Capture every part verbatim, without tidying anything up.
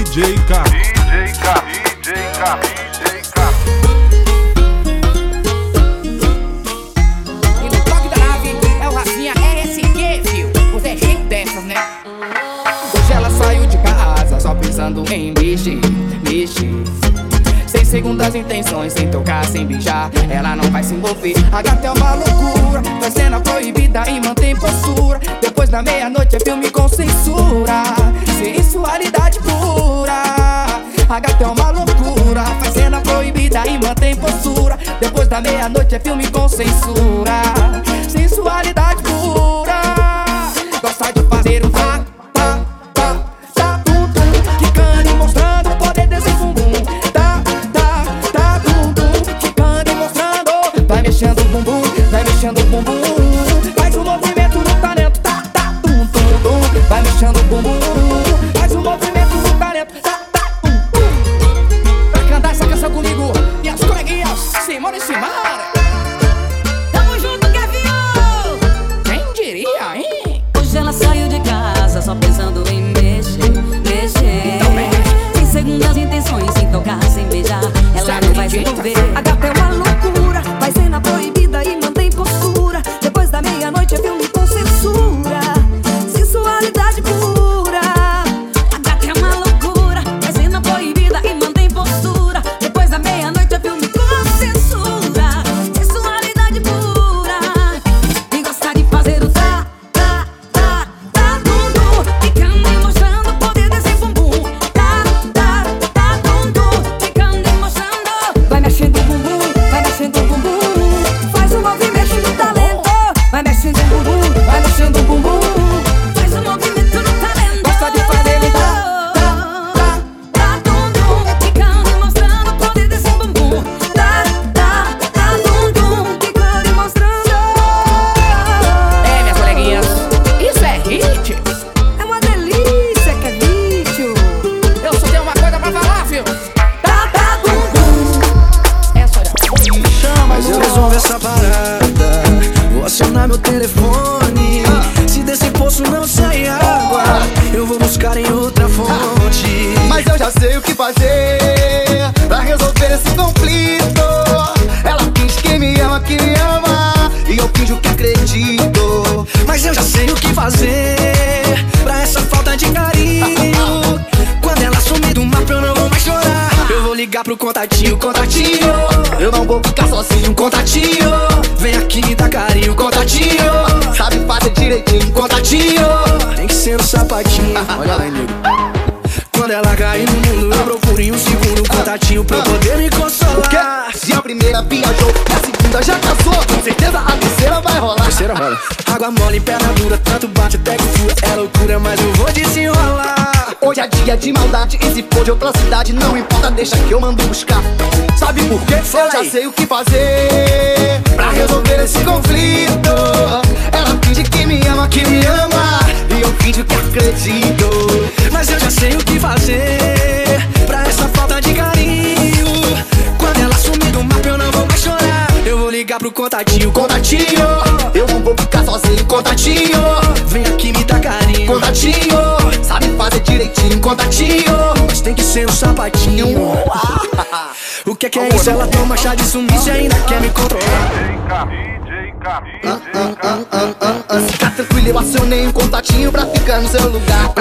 D J K. D J K, D J K, D J K. E no toque da nave é o Rafinha R S Q, viu? Você é cheio dessas, né? Hoje ela saiu de casa só pensando em mexer, mexer. Sem segundas intenções, sem tocar, sem beijar, ela não vai se envolver. A gata é uma loucura, faz cena proibida e mantém postura. Depois da meia-noite é filme com censura, sensualidade pura. A gata é uma loucura, faz cena proibida e mantém postura. Depois da meia-noite é filme com censura, sensualidade pura. Gosta de fazer o tá, tá, tá, tá, tum, tum, quicando e mostrando o poder desse bumbum. Tá, tá, tá, tum, tum, quicando e mostrando. Vai mexendo o bumbum, vai mexendo o bumbum. Faz o movimento do talento, tá, tá, tum, tum, tum. Vai mexendo o bumbum, faz o movimento do talento, tá, tá, tum, tum. Pra cantar essa canção comigo, minhas coleguinhas, Simone e Simara. Tamo junto, Kevin! Quem diria, hein? Hoje ela saiu de casa só pensando em mexer, mexer. Então mexe. Sem segundas intenções, sem tocar, sem beijar, ela Sabe não vai se jeito, envolver. tá? A gata é uma loucura, faz cena proibida e mantém postura. Depois da meia-noite é filme com censura, sensualidade pura. A gata é uma loucura, faz cena proibida e mantém postura. Depois da meia-noite é filme com censura, sensualidade pura. E gosta de fazer o tá, tá, tá, tá, tum, tum, ficando e mostrando o poder desse bumbum. Tá, tá, tá, tum, tum, ficando e mostrando. Vai mexendo o bumbum, vai mexendo o bumbum. Faz o movimento do talento. Vai mexendo o bumbum, vai mexendo o bumbum. Faz o movimento do talento. Gosta de fazer o tá, tá, tá, tá, tum, tum, ficando e mostrando o poder desse bumbum. Tá, tá, tá, tum, tum, ficando e mostrando. É, minhas coleguinhas, isso é hit. É uma delícia, Kevin. Eu só tenho uma coisa pra falar, filho. Tá, tá, tum, tum. Essa olha. Mas eu resolvo essa parada. Vou acionar meu telefone. Se desse poço não sair água, eu vou buscar em outra fonte. Mas eu já sei o que fazer pra resolver esse conflito. Ela finge que me ama, que me ama, e eu finjo que acredito. Mas eu já sei o que fazer pra essa falta de carinho. Quando ela sumir do mapa eu não vou mais chorar. Eu vou ligar pro contatinho, contatinho. Eu não vou ficar sozinho, Contatinho, vem aqui me dá carinho, contatinho. sabe fazer direitinho. Contatinho, tem que ser um sapatinho. Olha lá, nego. Quando ela cair no mundo, eu procuro em um segundo um contatinho pra eu poder me consolar. Se a primeira viajou, a segunda já casou, com certeza a terceira vai rolar. Terceira roda. Água mole, perna dura, tanto bate até que fura. É loucura, mas eu vou desenrolar. Hoje é dia de maldade, e se for de outra cidade, não importa, deixa que eu mando buscar. Sabe por quê? Eu já sei o que fazer pra resolver esse conflito. Ela finge que me ama, que me ama, e eu finjo que acredito. Mas eu já sei o que fazer pra essa falta de carinho. Quando ela sumir do mapa eu não vou mais chorar. Eu vou ligar pro contatinho, contatinho. Eu não vou ficar sozinho, Contatinho, vem aqui me dá carinho. contatinho, sabe fazer direitinho. Contatinho, mas tem que ser um sapatinho. O que é que é isso? Ela toma chá de sumiço e ainda quer me controlar. D J K, D J K, D J K. Fica tranquilo, eu acionei um contatinho pra ficar no seu lugar.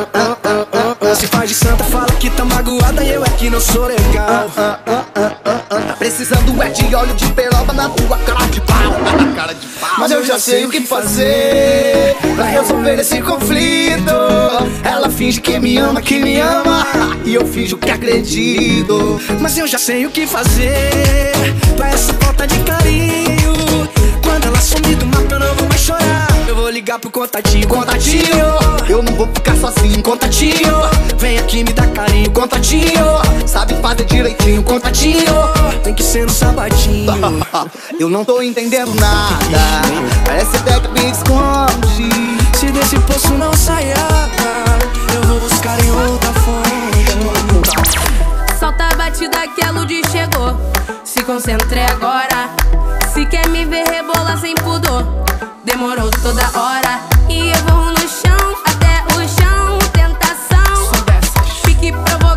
Se faz de santa, fala que tá magoada e eu é que não sou legal. Precisando é de óleo de peroba na tua cara de pau. Cara de pau. Mas eu já sei o que fazer pra resolver esse conflito. Ela finge que me ama, que me ama, e eu finjo que acredito. Mas eu já sei o que fazer pra essa falta de carinho. Quando ela sumir do mapa eu não vou mais chorar. Eu vou ligar pro contatinho, contatinho. Eu não vou ficar sozinho, Contatinho, vem aqui me dá carinho. Contatinho, sabe fazer direitinho. contatinho, tem que ser um sapatinho. Eu não tô entendendo nada, parece até que me esconde. Se desse poço não sair água, eu vou buscar em outra fonte. Solta a batida que a Lud chegou. Se concentre agora. Se quer me ver rebolar sem pudor, demorou toda hora. E eu vou no chão, até o chão, tentação. Fique provocação.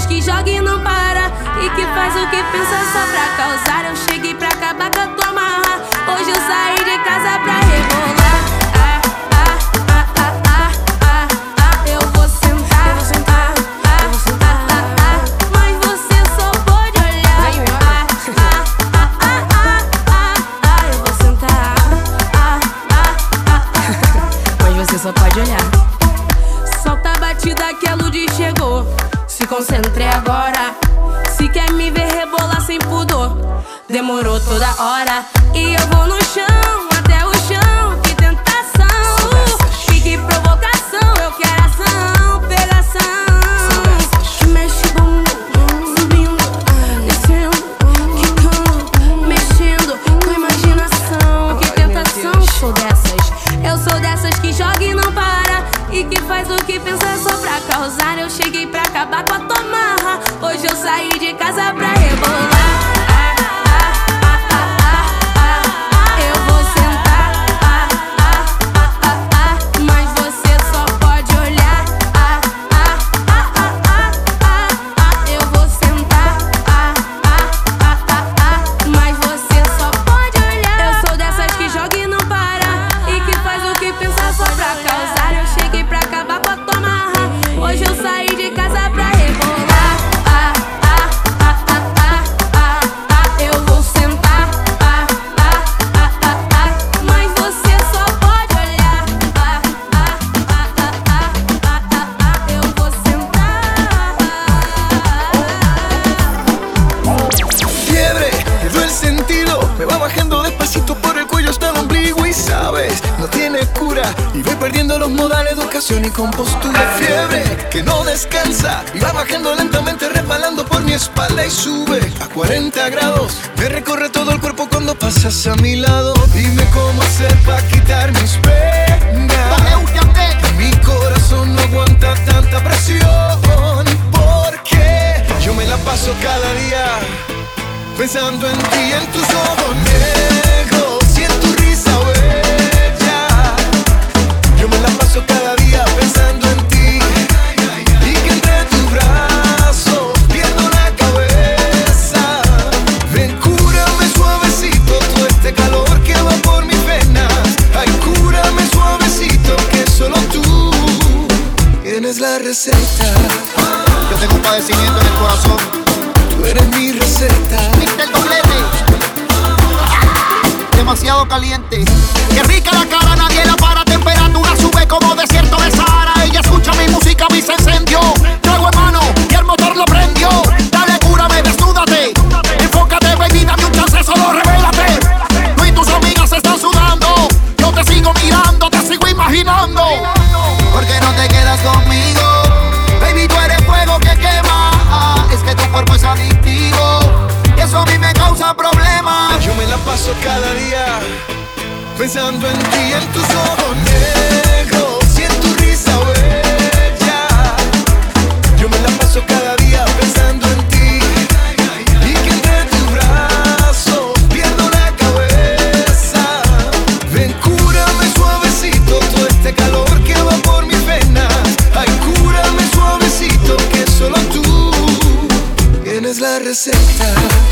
que joga e não para, e que faz o que pensa só pra causar. Eu cheguei pra acabar com a tua marra. Hoje eu saí de casa pra rebolar. Ah, ah, ah, ah, ah, ah, ah. Eu vou sentar, eu vou sentar, ah, eu vou sentar, ah, ah, ah. Mas você só pode olhar. Ah, ah, ah, ah, ah, ah, ah. Eu vou sentar, ah, ah, ah, ah. Mas você só pode olhar. Solta a batida que a Ludi chegou. Se concentre agora. Se quer me ver rebolar sem pudor, demorou toda hora. E eu vou no chão, até o chão. Que tentação, e que provocação. Eu quero ação, pegação. Que mexe bumbum, subindo, descendo, quicando, mexendo com imaginação. Que tentação. Sou dessas, eu sou dessas que joga e não para, e que faz o que pensa só pra causar. Eu cheguei pra acabar com a tua marra. Hoje eu saí de casa pra rebolar. Ah, ah, ah, ah, ah, ah, ah. Eu vou sentar, ah, ah, ah, ah, ah. Mas você só pode olhar. Ah, ah, ah, ah, ah, ah, ah. Eu vou sentar, ah, ah, ah, ah, ah. Mas você só pode olhar. Eu sou dessas que joga e não para, e que faz o que pensa só pra causar. Eu cheguei pra acabar com a tua marra. Hoje eu saí de casa pra rebolar. Ah, ah, ah, ah, ah, ah, ah. Eu vou sentar, ah, ah, ah, ah, ah. Mas você só pode olhar. Ah, ah, ah, ah, ah, ah, ah, ah. Eu vou sentar. Fiebre, pierdo el sentido, me va bajando despacito por el cuello hasta el ombligo y sabes, no tiene cura y voy perdiendo los modales de ocasión y compostura. Fiebre que no descansa y va bajando lentamente resbalando por mi espalda y sube a cuarenta grados, me recorre todo el cuerpo cuando pasas a mi lado. Dime cómo hacer para quitar mis penas, mi corazón no aguanta tanta presión, porque yo me la paso cada día pensando en ti, en tus ojos negros, si en tu risa bella. Yo me la paso cada día pensando en ti, y que entre tus brazos pierdo la cabeza. Ven, cúrame suavecito todo este calor que va por mis venas. Ay, cúrame suavecito que solo tú tienes la receta. Yo tengo un padecimiento en el corazón. Tú eres mi receta. mister Doblete. Demasiado caliente. Qué rica la cara, nadie la para. Temperatura sube como desierto de Sahara. Ella escucha mi música, a mí se encendió. Trago en mano y el motor lo prendió. Dale, cúrame, desnúdate. Enfócate, baby, dame un chance, solo revélate. Tú y tus amigas están sudando. Yo te sigo mirando, te sigo imaginando. ¿Por qué no te quedas conmigo? Baby, tú eres fuego que quema. Es que tu cuerpo es adictivo y eso a mí me causa problemas. Yo me la paso cada día pensando en ti, en tus ojos negros, si en tu risa bella. Yo me la paso cada día pensando en ti, y que entre tus brazos pierdo la cabeza. Ven, cúrame suavecito todo este calor que va por mis venas. Ay, cúrame suavecito que solo tú tienes la receta.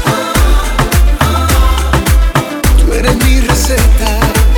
Tú eres mi receta.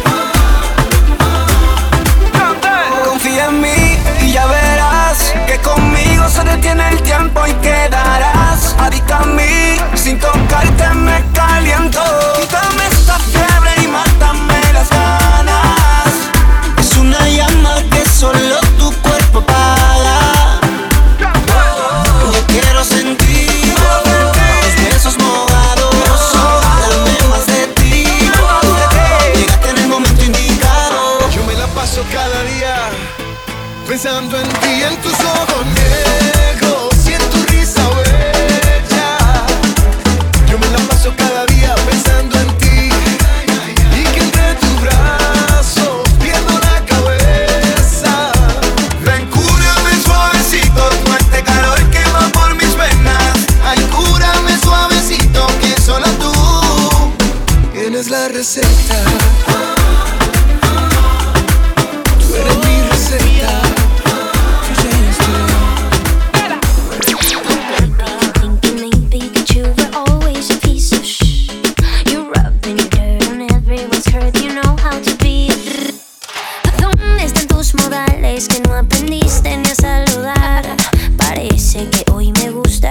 Confía en mí y ya verás que conmigo se detiene el tiempo y quedarás adicta a mí. Sin tocarte me caliento. Quítame esta fiebre y mátame las ganas. Es una llama que solo tu cuerpo apaga. Yo quiero sentir tus besos mojados. Dame más de ti. Llegaste en el momento indicado. Yo me la paso cada día pensando en ti, en tus ojos negros, si en tu risa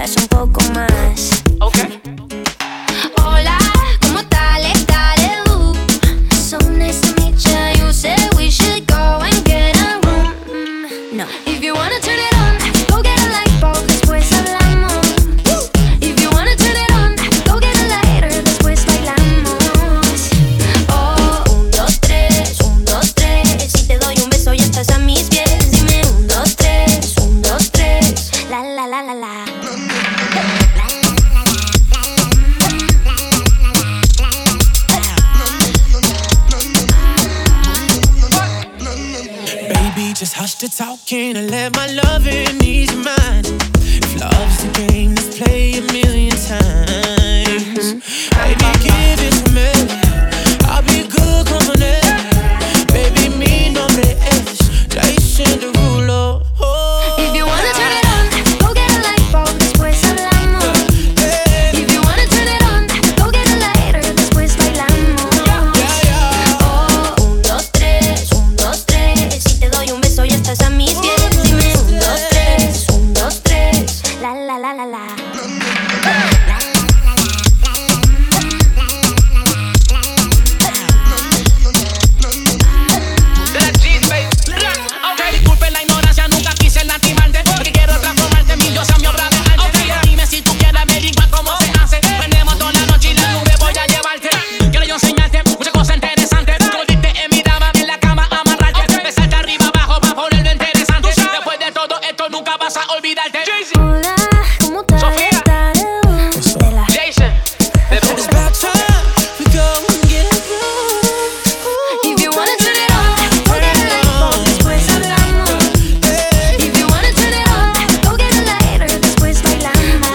digas un poco más. Okay. Hola, ¿cómo tal? Dale, uh. So nice to meet ya. You said we should go and get a room. Mm, no. If you wanna turn it on, go get a light bulb, después hablamos. If you wanna turn it on, go get a lighter, después bailamos. Oh, un, dos, tres, un, dos, tres. Si te doy un beso ya estás a mis pies. Dime un, dos, tres, un, dos, tres. La, la, la, la, la. Just hush the talking and let my loving ease your mind. If love's the game, let's play a million times. Baby, give it to me. I'll be good company. Baby, mi nombre es Jason Derulo. Oh, if you wanna turn it on, go get a light bulb, después hablamos. If you wanna turn it on, go get a lighter, después bailamos. Oh, un, dos, tres, un, dos, tres. Si te doy un beso ya estás a mis pies. Dime un, dos, tres, un, dos, tres. La, la, la, la, la. disculpe la ignorancia, nunca quise lastimarte. Porque quiero transformarte en mi diosa, mi obra de arte. Dime si tú quieres averiguar cómo se hace. Venemos toda la noche y la nube voy a llevarte. Quiero yo enseñarte muchas cosas interesantes. Como diste en mi dama, en la cama amarrarte. Empezarte arriba abajo para ponerlo interesante. Después de todo esto nunca vas a olvidarte. Hola, ¿cómo te Sofía. Jason. If you wanna turn it on, go get a light bulb, después hablamos. If you wanna turn it on, go get a lighter, después bailamos.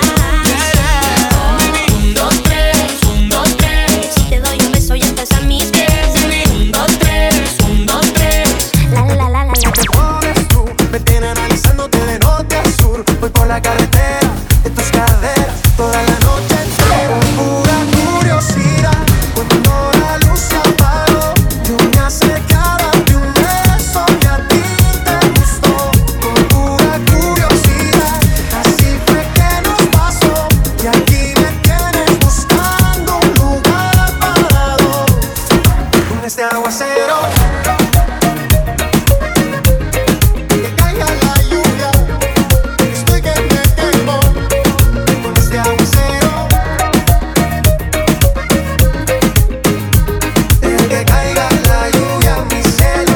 Un, dos, tres, un, dos, tres. Si te doy un beso ya estás a mis pies. Un, dos, tres, un, dos, tres. La, la, la, la, la. Pones tú, me tiene analizándote de norte a sur. Voy por la carretera de tus caderas toda la noche entera. Pura curiosidad, cuando la luz se apagó, yo me acercaba de un beso que a ti te gustó. Con pura curiosidad, así fue que nos pasó. Y aquí me tienes buscando un lugar para dos. Con este aguacero, que caiga la lluvia, estoy que me quemo. Con este aguacero, deja que caiga la lluvia, mi cielo.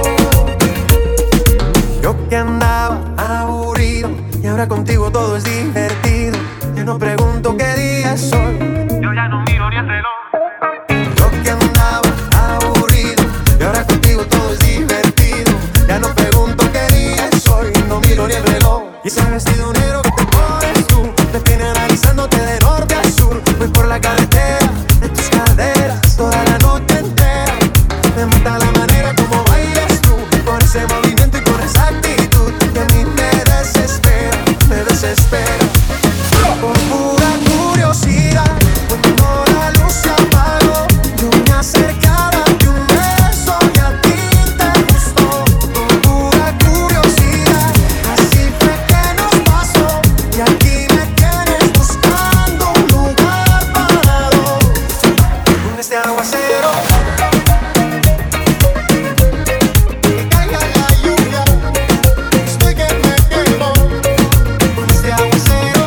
Yo que andaba aburrido y ahora contigo todo es divertido. Ya no pregunto qué día es hoy. Yo ya no miro ni el reloj. Yo que andaba aburrido y ahora contigo todo es divertido. Ya no pregunto qué día es hoy, no miro ni el reloj. Y ese vestido negro que te pones tú me tiene analizándote de norte a sur. Voy por la carretera de tus caderas toda la noche entera. Me mata la manera como bailas tú, con ese movimiento y con esa actitud que a mí me desespera, me desespera. Por pura curiosidad, cuando la luz se apagó, yo me acercaba de un beso y a ti te gustó. Por pura curiosidad, así fue que nos pasó. Y aquí me tienes buscando un lugar para dos. Con este aguacero, que caiga la lluvia, estoy que me quemo. Con este aguacero,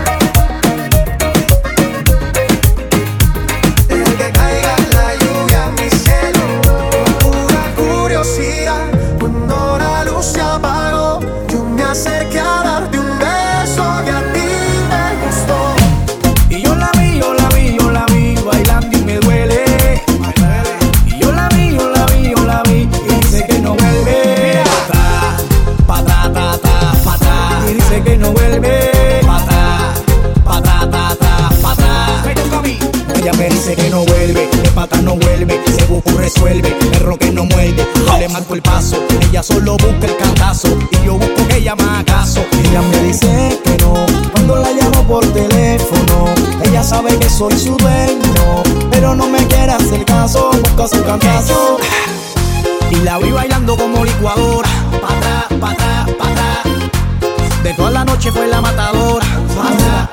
deja que caiga la lluvia, mi cielo. Pura curiosidad, cuando la luz se apagó, yo me acerqué a darte un beso que a ti te gustó. Y yo la vi, yo la vi, yo la vi bailando y me duele. Y yo la vi, yo la vi, yo la vi y dice que no vuelve. Pa' atrás, pa' atrás, ta, ta, pa' atrás. Y dice que no vuelve. Pa' atrás, pa' atrás, ta, ta, pa' atrás. Ella me dice que no vuelve, de pata no vuelve. Se busca y resuelve, perro que no muerde. Yo le marco el paso, ella solo busca el cantazo. Y yo busco que ella me haga caso. Ella me dice que no, cuando la llamo por teléfono. Ella sabe que soy su dueño, pero no me quiere hacer caso. Busca su cantazo y la vi bailando como licuadora. Pa' atrás, pa' atrás, pa' atrás. De toda la noche fue la matadora. Pa' atrás,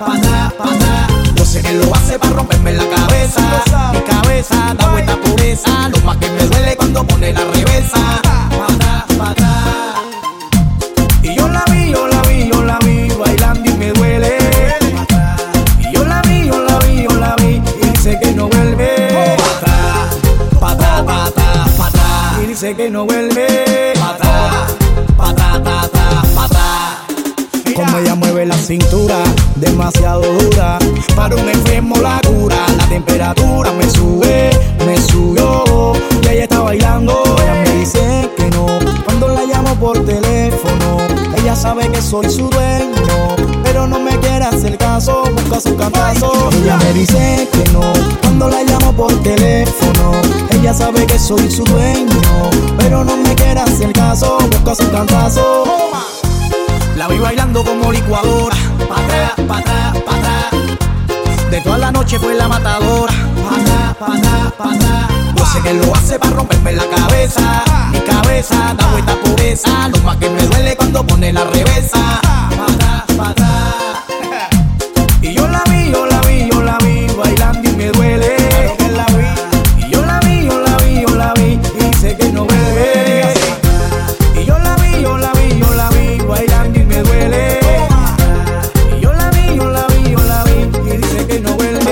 patá, patá. Yo sé que lo hace para romperme la cabeza. Mi cabeza da vuelta por esa. Lo más que me duele cuando pone la reversa. Patá, patá. Y yo la vi, yo la vi, yo la vi bailando y me duele. Y yo la vi, yo la vi, yo la vi y dice que no vuelve. Patá, patá, patá, patá. Y dice que no vuelve. Patá, patá, patá, patá. Como ella mueve la cintura, demasiado dura. Para un enfermo la cura. La temperatura me sube, me subió. Y ella está bailando, ella me dice que no. Cuando la llamo por teléfono, ella sabe que soy su dueño, pero no me quiere hacer caso, busca su cantazo. Ella me dice que no. Cuando la llamo por teléfono, ella sabe que soy su dueño, pero no me quiere hacer caso, busca su cantazo. La vi bailando como licuadora, pa' atrás, pa' atrás, pa' atrás. De toda la noche fue la matadora, pa' atrás, pa' atrás, pa' atrás. Yo sé que lo hace para romperme la cabeza. Mi cabeza da vuelta por esa. Lo más que me duele cuando pone la reversa. Pa' atrás, pa' atrás. Y yo la vi, yo la vi, yo la vi bailando y me duele. Y yo la vi, yo la vi, yo la vi y dice que no vuelve. Y yo la vi, yo la vi, yo la vi bailando y me duele. Y yo la vi, yo la vi, yo la vi y dice que no vuelve.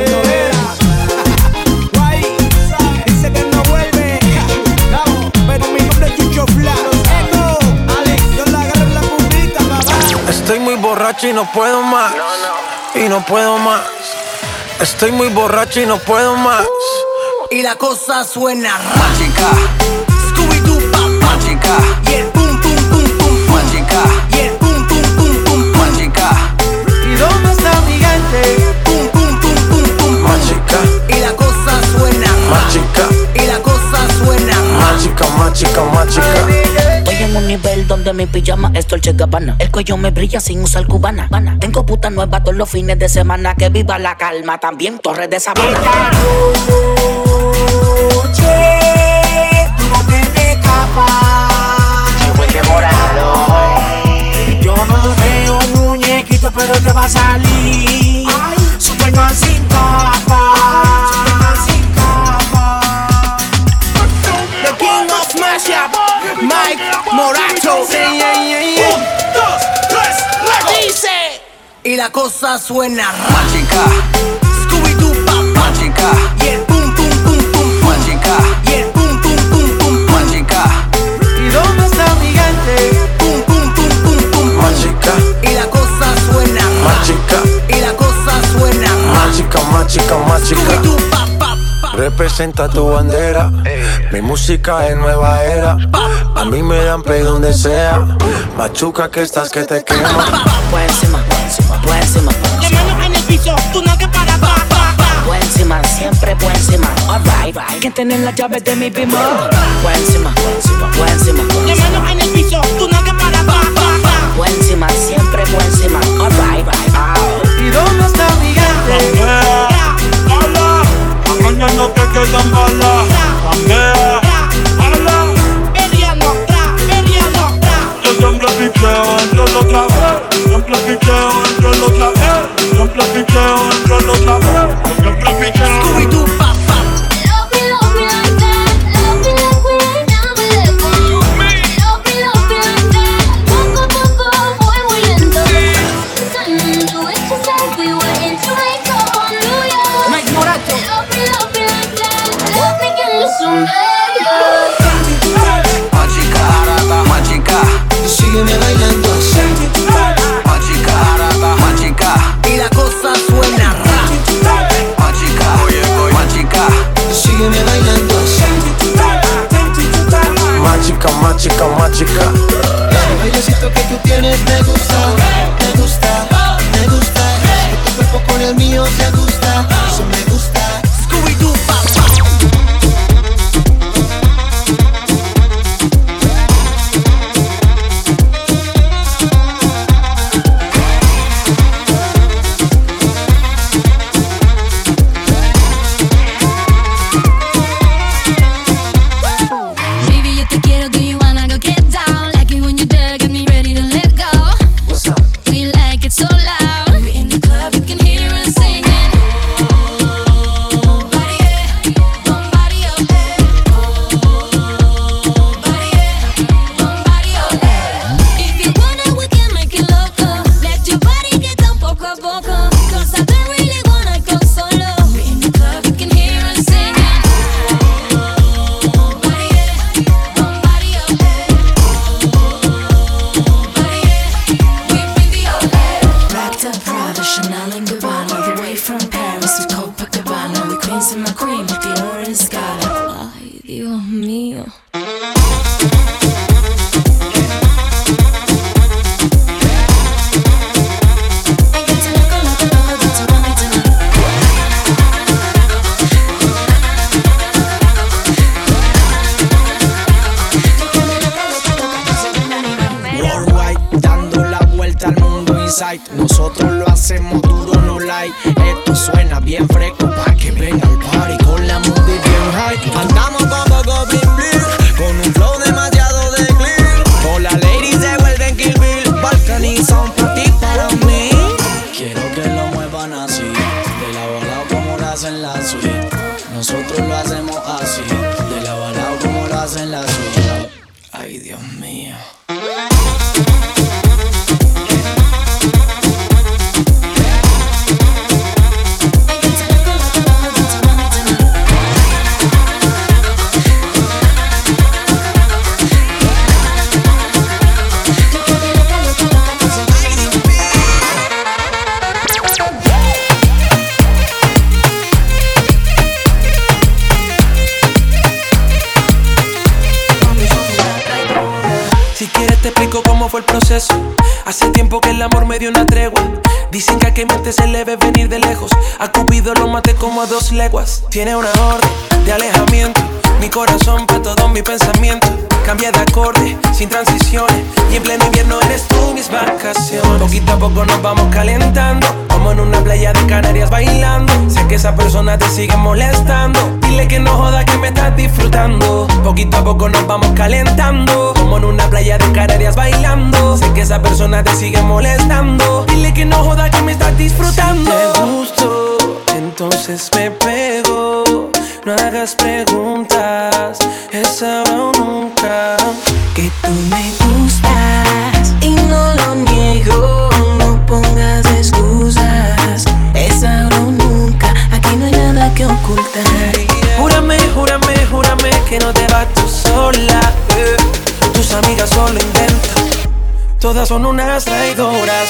Guay, dice que no vuelve. Pero mi nombre es Chucho Fla. Eco, Alex, yo la agarro en la puntita, papá. Estoy muy borracho y no puedo más. Y no puedo más. Estoy muy borracho y no puedo más. Y la cosa suena mágica. Scooby-Doo, pa, mágica. Y el pum, pum, pum, pum, mágica. Y el pum, pum, pum, pum, mágica. ¿Y dónde está mi gente? Pum, pum, pum, pum, pum, Mágica. Y la cosa suena Mágica. Y la cosa suena Mágica, mágica, mágica. Estoy en un nivel donde mi pijama es Dolce Gabbana. El cuello me brilla sin usar cubana. Tengo puta nueva todos los fines de semana. Que viva la calma, también Torres de Sabana. Esta noche tú no te me escapas. Si fue demorado. Yo no veo muñequito, pero te va a salir. Superman sin capa. Superman sin capa. The King of Mashup, Mike Morato. Yeah, yeah, yeah, yeah. Un, dos, tres, luego. Dice. Y la cosa suena mágica. Scooby-Doo, pa, mágica. Y el pum, pum, pum, pum, mágica. Y el pum, pum, pum, pum, mágica. ¿Y dónde está mi gente? Pum, pum, pum, pum, pum, Mágica. Y la cosa suena Mágica. Y la cosa suena Mágica, mágica, mágica. Scooby-Doo, pa, pa, pa. Representa tu bandera. Mi música es nueva era. A mí me dan play donde sea. Machuca que estás que te quema. Por encima, por encima, por encima. La mano en el piso, tú no que para pa, pa, pa. Por encima, siempre por encima. Alright, ¿quién tiene las llaves de mi bimbo? Por encima, por encima, por encima. La mano en el piso, tú no que para pa, pa, pa. Por encima, siempre por encima. Alright, ¿Y dónde está mi gente? Hola, mañana no te quedan balas. Cambia, hola. Peleando, tra, peleando, tra. Yo siempre piqueo, entro otra vez. Siempre piqueo, entro otra vez. Siempre piqueo, entro otra vez. Siempre piqueo. Scooby-Doo, pa, pa. Love me, love me like that. Love me like we ain't never let go. Love me, love me like that. Poco a poco voy muy lento. Mm, do it to Chanel and Gabbana, all the way from Paris to Copacabana. The queens in my cream, the orange Scala. Ay, Dios mío. Nosotros lo hacemos duro, no like. Esto suena bien fresco pa' que venga al party con la movie bien high. Andamos con poco bling bling, con un flow demasiado de clean. Todas las ladies se vuelven Kill Bill. Balcony son pa' ti, para mí. Quiero que lo muevan así, de lado a lado como lo hacen la suite. Nosotros lo hacemos así, de lado a lado como lo hacen la suite. Ay, Dios mío. ¿Cómo fue el proceso? Hace tiempo que el amor me dio una tregua. Dicen que a que mente se le ve venir de lejos. A Cupido lo maté como a dos leguas. Tiene una orden de alejamiento. Mi corazón pa' todo mi pensamiento. Cambia de acorde, sin transiciones. Y en pleno invierno eres tú mis vacaciones. Poquito a poco nos vamos calentando, como en una playa de Canarias bailando. Sé que esa persona te sigue molestando. Dile que no joda que me estás disfrutando. Poquito a poco nos vamos calentando, como en una playa de Canarias bailando. Sé que esa persona te sigue molestando. Dile que no joda que me estás disfrutando. Si te gusto, entonces me pego. No hagas preguntas, es ahora o nunca. Que tú me gustas y no lo niego. No pongas excusas, es ahora o nunca. Aquí no hay nada que ocultar. Júrame, júrame, júrame que no te vas tú sola. eh. Tus amigas solo inventan, todas son unas traidoras.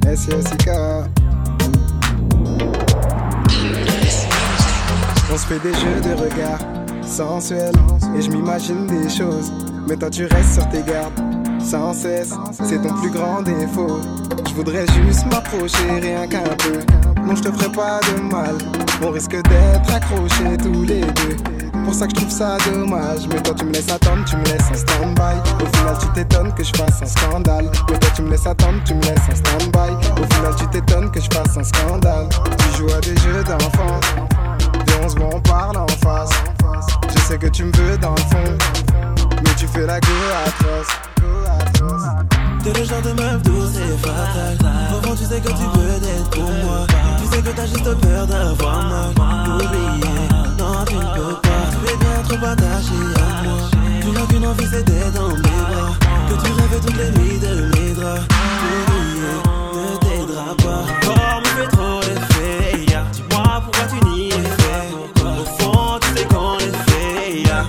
S S I K. On se fait des jeux de regard sensuels et je m'imagine des choses, mais toi tu restes sur tes gardes sans cesse, c'est ton plus grand défaut. Je voudrais juste m'approcher rien qu'un peu, non je te ferai pas de mal, on risque d'être accrochés tous les deux. Pour ça que je trouve ça dommage, mais toi tu me laisses attendre, tu me laisses en stand-by. Au final tu t'étonnes que je fasse un scandale, mais toi tu me laisses attendre, tu me laisses en stand-by. Au final tu t'étonnes que je fasse un scandale. Tu joues à des jeux d'enfance, viens on se voit, on parle en face. Je sais que tu me veux dans le fond, mais tu fais la go atroce. T'es le genre de meuf douce et fatale. Au fond tu sais que tu veux d'être pour moi. Tu sais que t'as juste peur d'avoir mal. Oublier, non tu ne peux pas. Tu es bien trop attaché à moi. Tu n'as qu'une envie c'est d'être dans mes bras. Que tu rêves toutes les nuits de mes draps. Oublier, ne t'aidera pas. Corps me fait trop l'effet, yeah. Dis-moi pourquoi tu n'y es fait. Au fond tu sais qu'on est fait, yeah.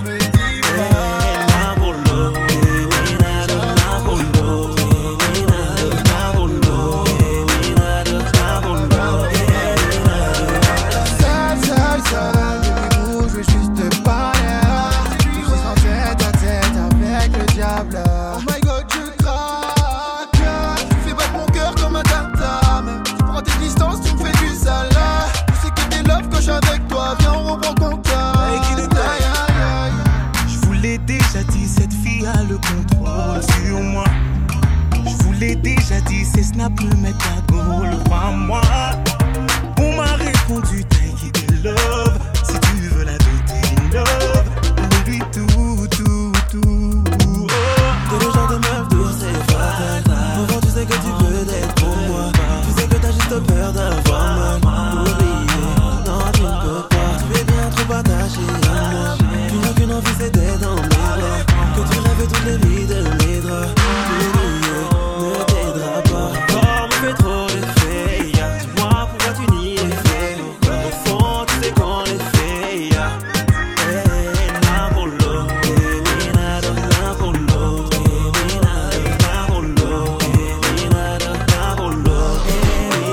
Déjà dit, ces snaps me mettent à dos, le crois moi. On m'a répondu, take it love. Si tu veux la beauté, love. Oublie tout, tout, tout. Oh. T'es le genre de meuf douce et fatale. Au fond tu sais que tu veux d'être pour moi. Tu sais que t'as juste peur d'avoir mal. Oublier, non tu ne peux pas. Tu es bien trop attaché à moi. Tu n'as qu'une envie c'est d'être dans mes bras. Que tu rêves toutes les nuits de mes draps. Fais trop l'effet, yeah. Dis-moi pourquoi tu n'y es fait. Au fond tu sais qu'on est fait, yeah. Hey, Napolo, hey, nada, Napolo, hey, nada, Napolo, hey, nada, Napolo, hey,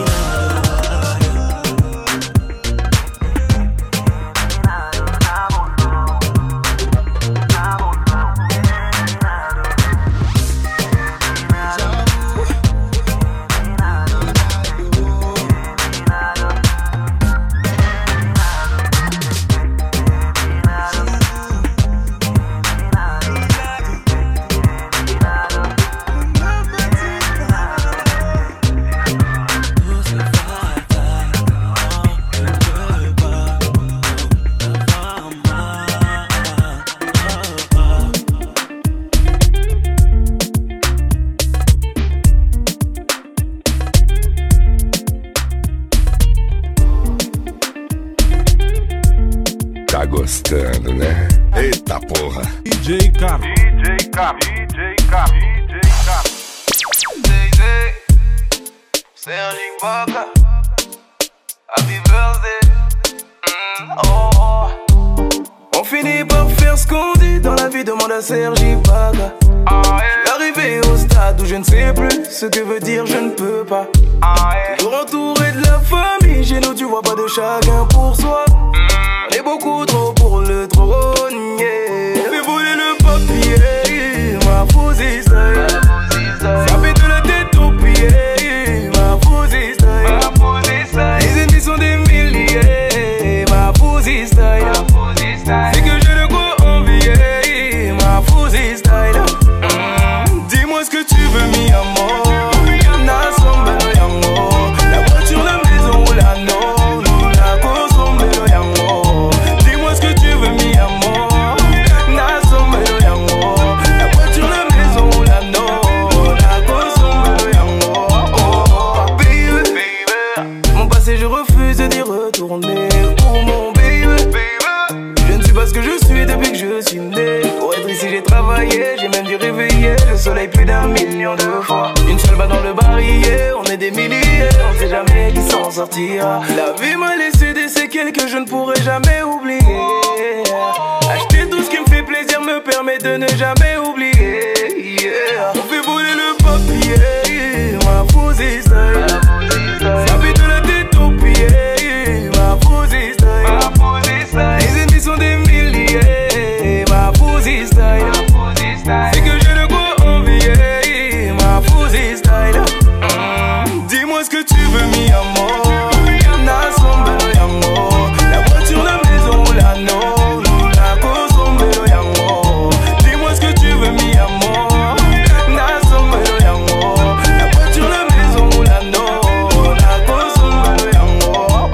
Tá gostando, né? Eita porra! D J Cap, D J Cap, D J Cap, D J Cap. Serge Ibaka, happy birthday. Mm, oh, oh. On finit par faire ce qu'on dit dans la vie, demande à Serge Ibaka. Ah, yeah. Arrivé au stade où je ne sais plus ce que veut dire je ne peux pas. Ah, yeah. Toujours entouré de la famille, chez nous tu vois pas de chacun pour soi. On est beaucoup trop pour le trône, yeah. On fait voler le papier, ma fausse style. Ça fait de la tête aux pieds, ma fausse style. Les ennemis sont des milliers, ma fausse style. C'est que j'ai de quoi envier, ma fausse style. mm. Dis-moi ce que tu veux, mi amor. Nasombe lo yango. La voiture, la maison ou la non. La consombe lo yango. Dis-moi ce que tu veux, mi amor. Nasombe lo yango. La voiture, la maison ou la non. La consombe lo yango. Oh, baby, baby. Mon passé, je refuse d'y retourner. Oh, mon baby, baby. Je ne suis pas ce que je suis depuis que je suis né. Pour être ici, j'ai travaillé. J'ai même dû réveiller le soleil plus d'un million de fois. Une seule balle dans le barillet, on est des milliers. On sait jamais qui s'en sortira. La vie m'a laissé des séquelles que je ne pourrai jamais oublier. Acheter tout ce qui me fait plaisir me permet de ne jamais oublier. Yeah. On fait voler le papier, ma fausse style. ce que tu veux, mi amor. Nasombelo yango. La voiture, la maison ou la no. La kosombelo yango. Dis-moi ce que tu veux, mi amor. Nasombelo yango. La voiture, la maison ou la no. La kosombelo yango.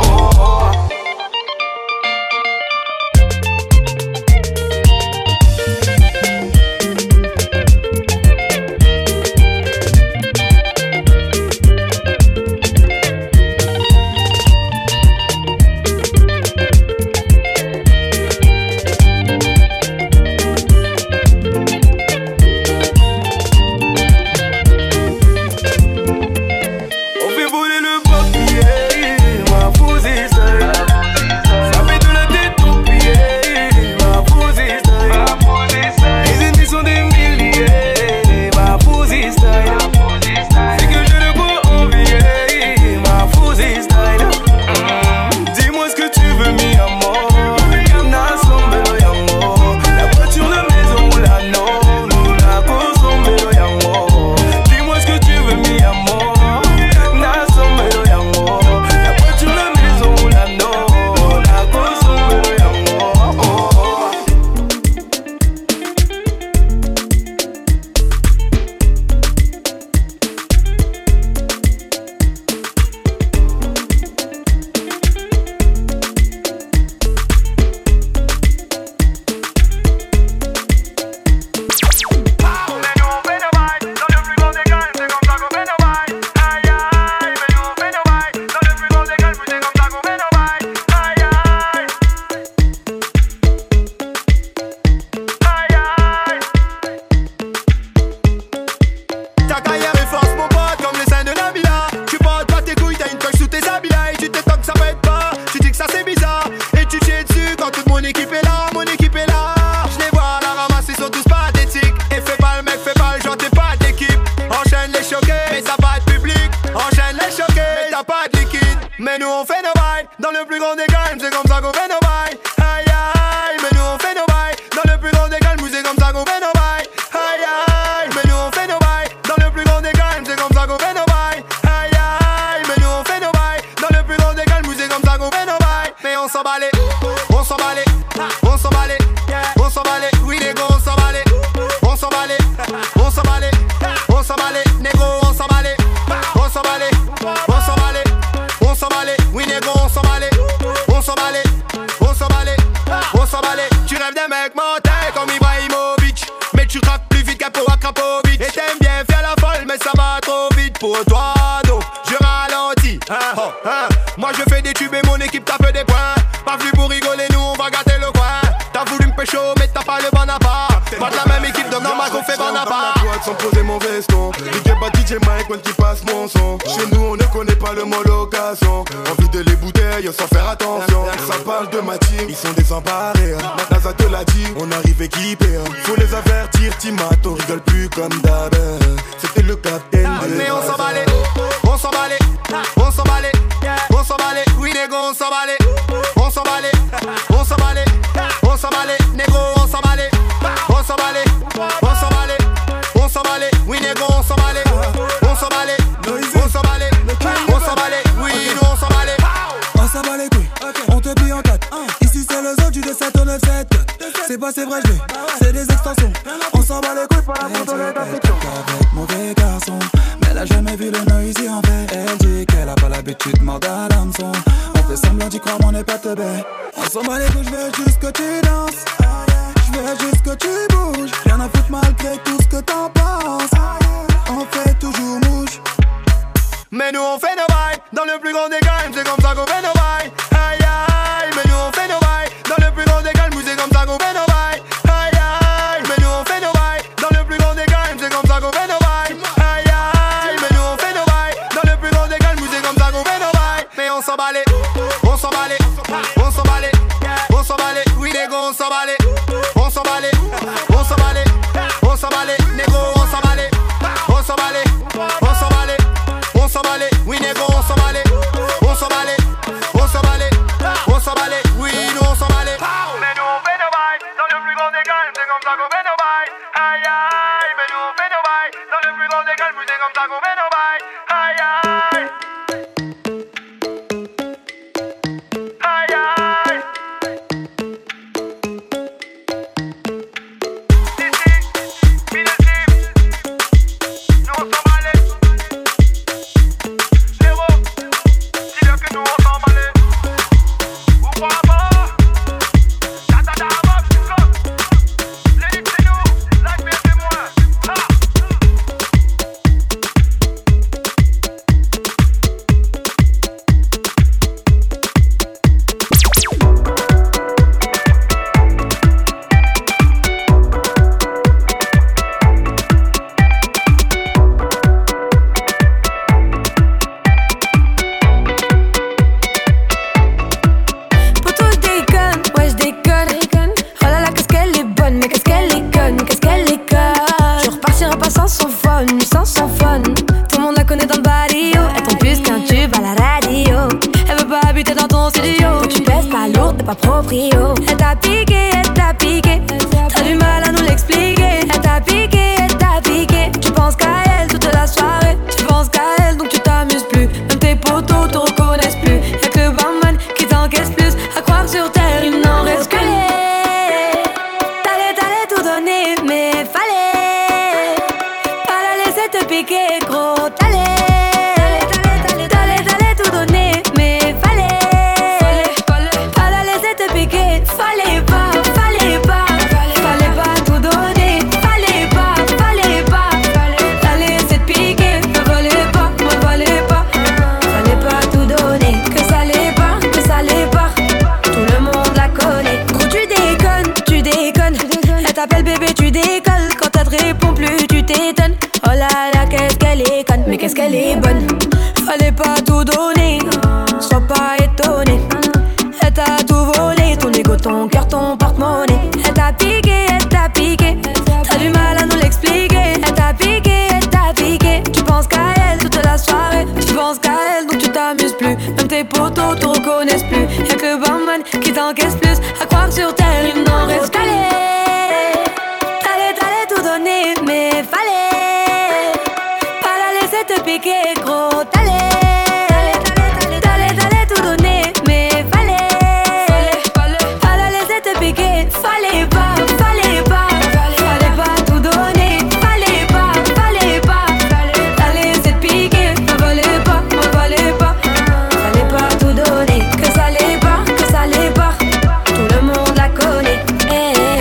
pas proprio. Elle t'a piqué, elle t'a piqué. T'as du mal à nous l'expliquer. Elle t'a piqué, elle t'a piqué. Tu penses qu'à elle toute la soirée. Tu penses qu'à elle donc tu t'amuses plus. Même tes potos te reconnaissent plus. Y'a que le barman qui t'encaisse plus. À croire sur terre il n'en reste que les. T'allais, t'allais tout donner mais fallait pas la laisser te piquer gros. T'allais, t'allais, t'allais, t'allais tout donner mais fallait pas la laisser te piquer. Fallait pas, fallait pas, fallait pas tout donner. Fallait pas, fallait pas la laisser te piquer. Me fallait pas, me fallait pas, fallait pas tout donner. Que ça l'est pas, que ça l'est pas, tout le monde la connaît. Gros tu déconnes, tu déconnes. Elle t'appelle bébé, tu décolles. Quand elle te répond plus, tu t'étonnes. Oh là là, qu'est-ce qu'elle est conne, mais qu'est-ce qu'elle est bonne. Fallait pas tout donner, sois pas étonné. Elle t'a tout volé, ton ego, ton cœur, ton porte-monnaie. Elle t'a piqué, elle t'a piqué. T'as du mal à nous l'expliquer. Elle t'a piqué, elle t'a piqué. Tu penses qu'à elle toute la soirée. Tu penses qu'à elle donc tu t'amuses plus. Même tes potos te reconnaissent plus. Y'a que le barman qui t'encaisse plus. À croire sur terre il n'en reste qu'à les. T'allais, t'allais tout donner mais fallait pas la laisser te piquer gros. T'allais, t'allais, t'allais tout donner mais fallait pas la laisser te piquer. Fallait pas, fallait pas, fallait pas tout donner. Fallait pas, fallait pas la laisser te piquer. Me fallait pas, me fallait pas, fallait pas tout donner. Que ça l'est pas, que ça l'est pas, tout le monde la connaît. Eh,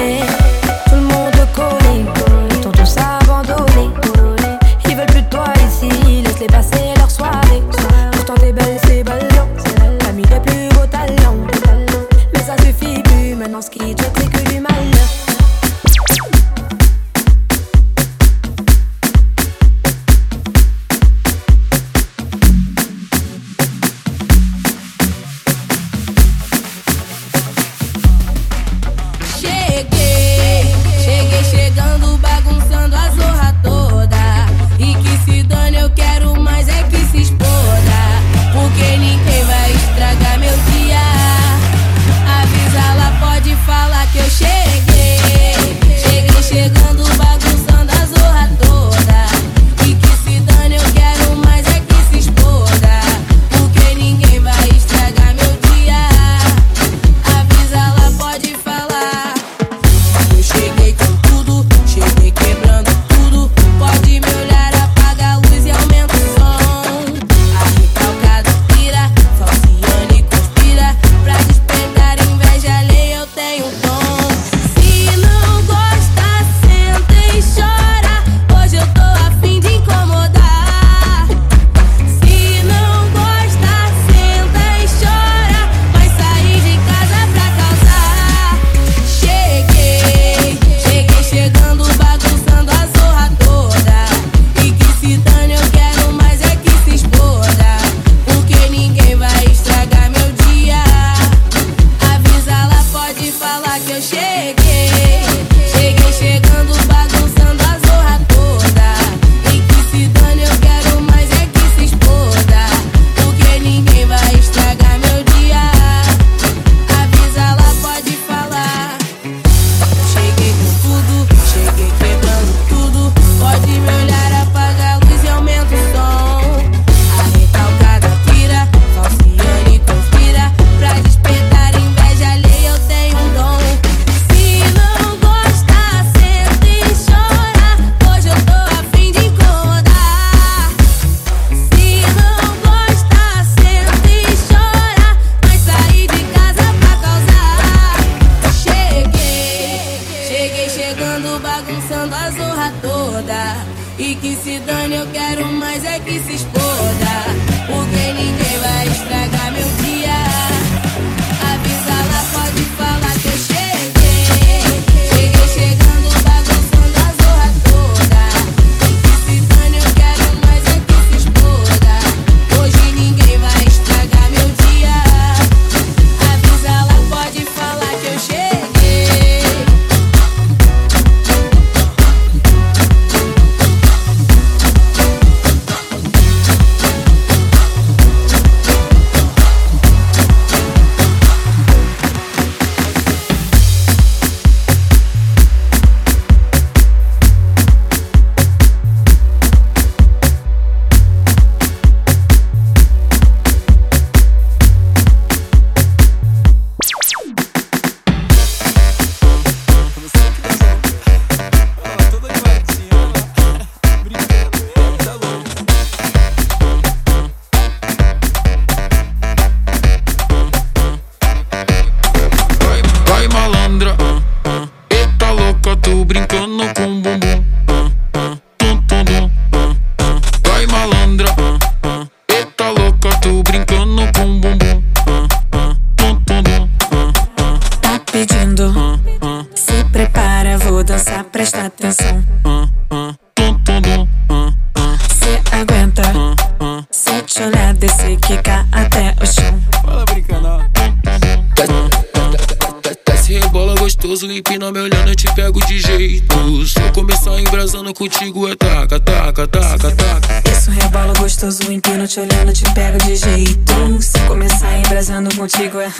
tu brincando com o bumbum. Tá pedindo, se prepara, vou dançar, presta atenção. Cê aguenta, se te olhar, descer, quicar até o chão. Fala brincando. Desce, rebola gostoso, empina me olhando, eu te pego de jeito. Se eu começar embrasando contigo é taca, taca, taca, taca. Isso, rebola gostoso, empina te olhando, te pego de jeito. Se começar embrasando contigo é...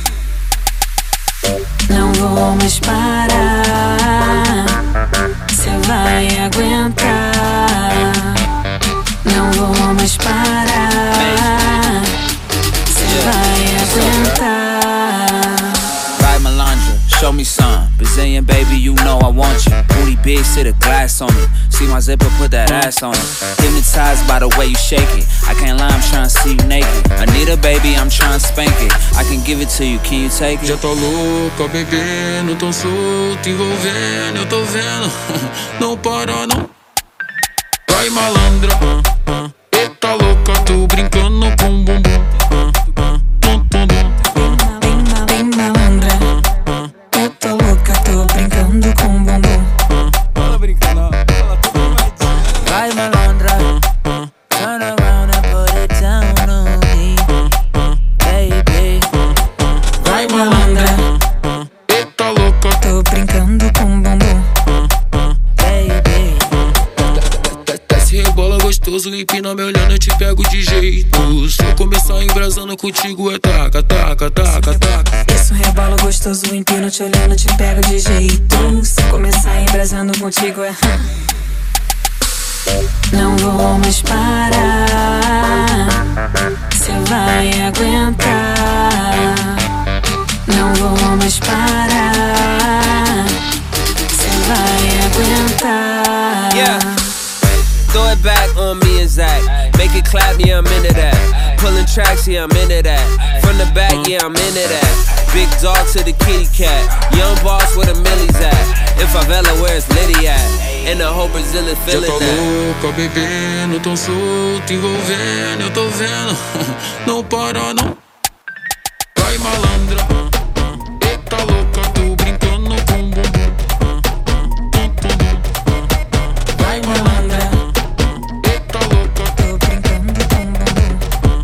Não vou mais parar, cê vai aguentar. Não vou mais parar, cê vai aguentar. Right, Melandra, show me some. Brazilian baby, you know I want you. Booty big, sit a glass on it. See my zipper, put that ass on it. Hypnotized by the way you shake it. I can't lie, I'm tryna see you naked. Anita baby, I'm tryna spank it. I can give it to you, can you take it? Já tá louca, bebendo, tão solto, envolvendo, eu tô vendo. Não para, não. Vai, malandra. Eita louca, tu brincando com o bumbum. Bem malandra, eu tô louca, tô brincando com o bumbum. Fala brincando. Vai, malandra. Turn around and put it down on me, baby. Vai, malandra, eita louca, tô brincando com o bumbum. Baby. Desce, rebola gostoso, empina me olhando, eu te pego de jeito. Se eu começar embrasando contigo é taca, taca, taca, taca. Isso, rebola gostoso, empina te olhando, te pego de jeito. Se começar embrasando contigo é... Não vou mais parar, cê vai aguentar. Não vou mais parar, cê vai aguentar. Yeah. Throw it back on me and Zach. Make it clap, yeah, I'm into that. Pulling tracks, yeah, I'm into that. From the back, yeah, I'm into that. Big dog to the kitty cat. Young boss where the millies at. In favela, where's Liddy at? And the whole Brazil is feeling that. Já tá that. louca, bebendo, tão solto, envolvendo, eu tô vendo. Não para, não. Vai, malandra. Eita louca, tu brincando com o bumbum. Vai, malandra, eita louca, tô brincando com o bumbum.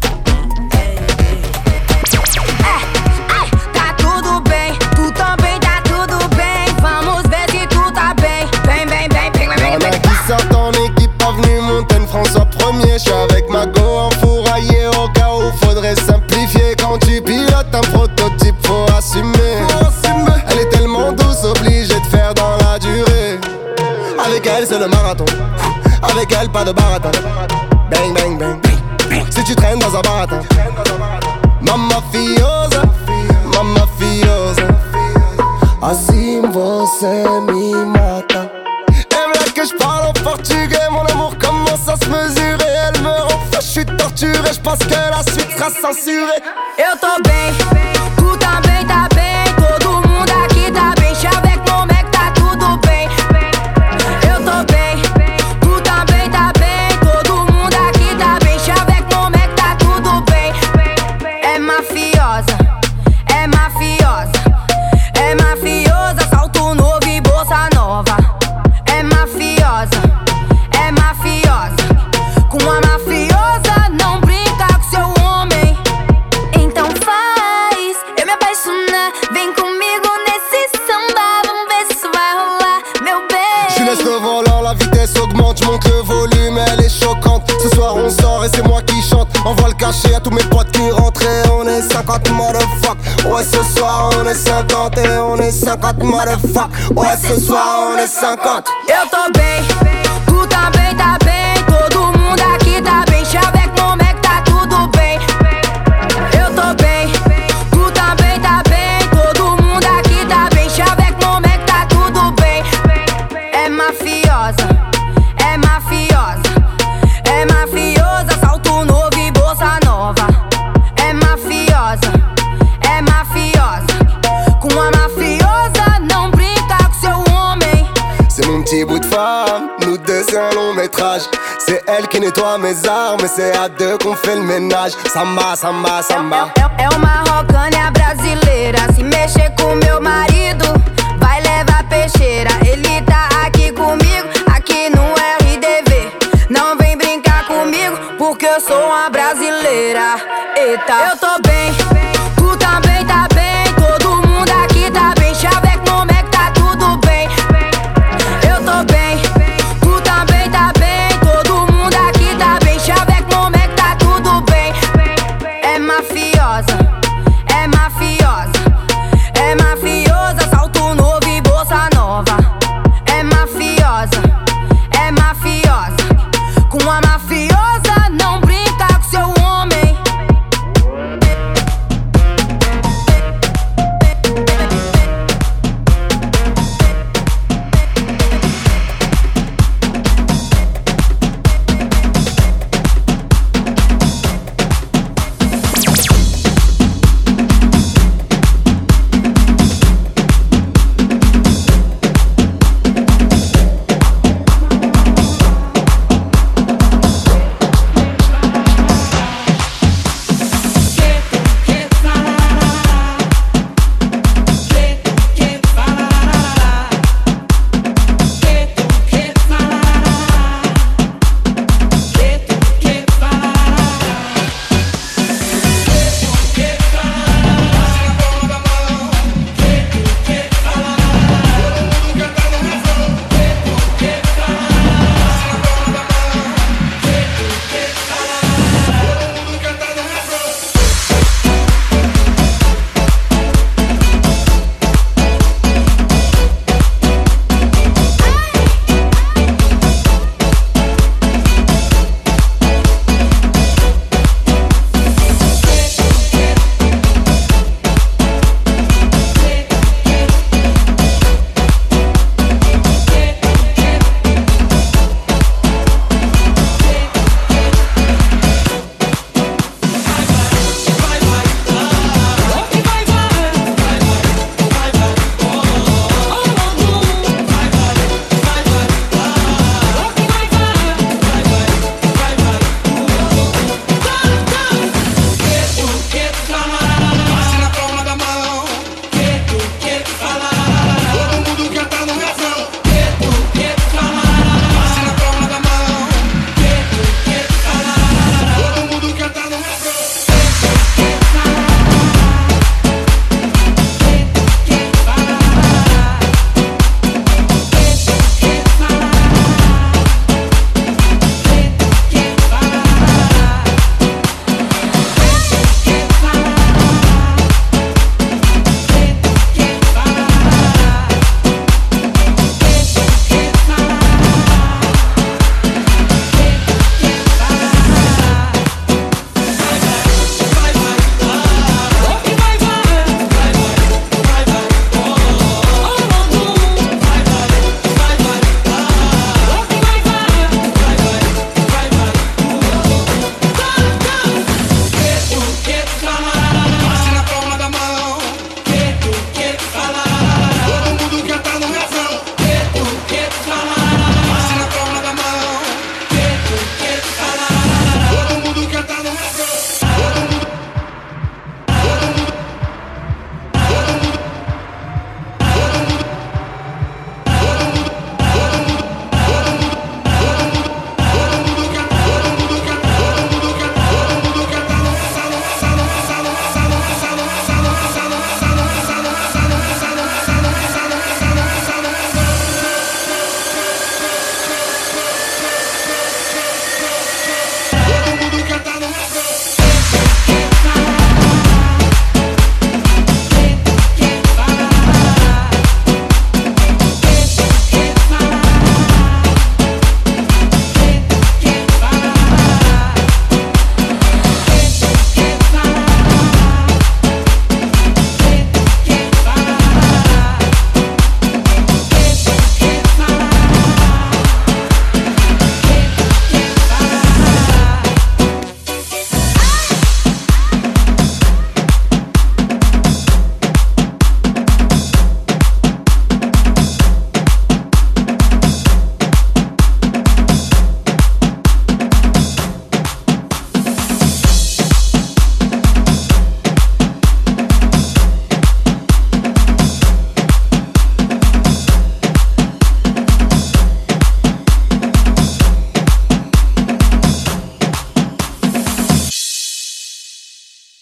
É, tá tudo bem, tu também tá tudo bem. Vamos ver se tu tá bem. Bem, bem, bem, bem, bem, Y'en bem. a qui sortent en équipe, avenue Montaigne, François premier. J'suis avec ma go enfouraillé au cas où faudrait simplifier. Quand tu pilotes un prototype, faut assumer. Elle est tellement douce, obligée de faire dans la durée. Avec elle, c'est le marathon. Avec elle, pas de baratin. Bang, bang, bang. Si tu traînes dans un baratin. Mamma fiosa, mamma fiosa. Assim você me mata. Et là que je parle en portugais, mon amour commence à se mesurer. Elle me rend fou, je suis torturé, je pense que la suite sera censurée. Eu tô bem, tu também tá bem. Todo mundo aqui tá bem. Avec mon mec tá tudo bem. Eu tô bem, tu também tá bem. Todo mundo aqui tá bem. Avec mon mec tá tudo bem. É mafiosa, é mafiosa, é mafiosa. Salto novo e bolsa nova. É mafiosa, é mafiosa. Com a mafiosa não brinca com seu homem. Então faz eu me apaixonar. Vem comigo nesse samba. Vamos ver se isso vai rolar, meu bem. Je laisse le volant, la vitesse augmente, je monte le volume, elle est choquante. Ce soir on sort et c'est moi qui chante. Envoie le cachet à tous mes potes qui rentrent et on est cinquante motherfuck. Ouais ce soir on est cinquante et on est cinquante motherfuck. Ouais ce soir on est cinquante. Eu tô bem, tu também tá bem. Todo mundo aqui tá bem. Avec mon mec tá tudo bem. Eu tô bem, tu também tá bem. Todo mundo aqui tá bem. Avec mon mec tá tudo bem. É mafiosa, é mafiosa, é mafiosa. Salto novo e bolsa nova. É mafiosa, é mafiosa. Com a mafiosa não brinca com seu homem. C'est mon petit bout de femme, nous deux c'est un long métrage. C'est elle qui nettoie mes armes et c'est à deux qu'on fait le ménage. Samba, samba, samba. É, é uma rocânia brasileira. Se mexer com meu marido, vai levar peixeira. Ele tá aqui comigo, aqui no R D V. Não vem brincar comigo, porque eu sou uma brasileira. Eita, eu tô bem, tu também tá bem. Todo mundo aqui tá bem. Chaveco, como é que tá tudo bem? Eu tô bem, tu também tá bem. Todo mundo aqui tá bem. Chaveco, como é que tá tudo bem? É mafiosa, é mafiosa.